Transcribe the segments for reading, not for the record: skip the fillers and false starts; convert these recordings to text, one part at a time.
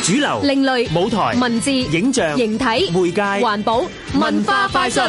主流、 另類、 舞台、 文字、 影像、 形體、 媒介、 環保、文化快訊。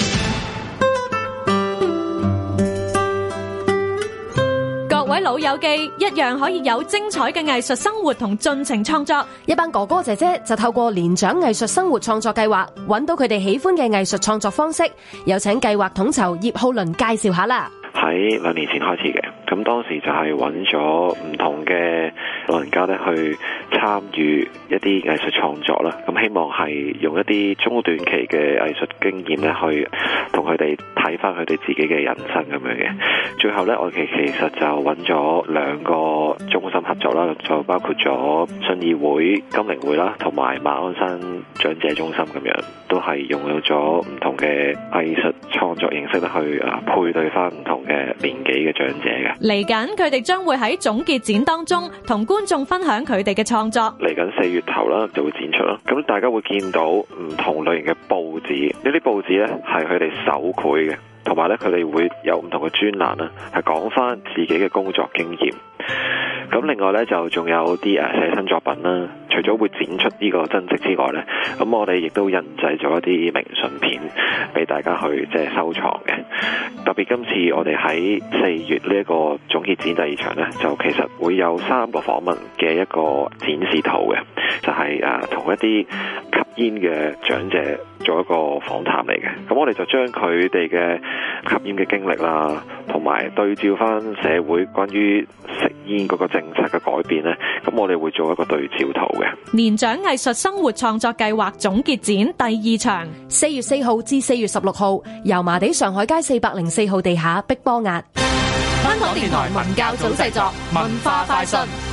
各位老友記一樣可以有精彩嘅藝術生活同盡情創作。 一班哥哥姐姐就透過年長藝術生活創作計劃，揾到佢哋喜歡嘅藝術創作方式。有請計劃統籌葉浩倫介紹下啦。 喺2年前開始嘅，咁當時就係揾咗唔同嘅老人家咧去參與一啲藝術創作啦。咁希望係用一啲中短期嘅藝術經驗咧，去同佢哋睇翻佢哋自己嘅人生咁樣嘅。最後咧，我哋其實就揾咗2個中心合作啦，就包括咗信義會、金陵會啦，同埋馬鞍山長者中心咁樣，都係用咗唔同嘅藝術創作形式咧去配對翻唔同嘅年紀嘅長者嘅。 嚟緊佢哋將會喺總結展當中同觀眾分享佢哋嘅創作。 嚟緊4月頭啦就會展出啦，咁大家會見到唔同類型嘅報紙，呢啲報紙咧係佢哋手繪嘅，同埋咧佢哋會有唔同嘅專欄啦，係講翻自己嘅工作經驗。咁另外咧就仲有啲寫真作品啦，除咗會展出呢個真跡之外咧，咁我哋亦都印製咗一啲明信片俾大家去收藏嘅。特別今次我哋喺4月呢一個總結展第2場咧，就其實會有3個訪問嘅一個展示圖嘅，就係同一啲吸煙嘅長者做一個訪談嚟嘅。咁我哋就將佢哋嘅吸煙嘅經歷啦，同埋對照翻社會關於食煙嗰個政策嘅改變咧，咁我哋會做一個對照圖嘅。 年長藝術生活創作計劃總結展第2場 ，4月4號至4月16號，油麻地上海街404號地下碧波押。 香港電台文教組製作，文化快訊。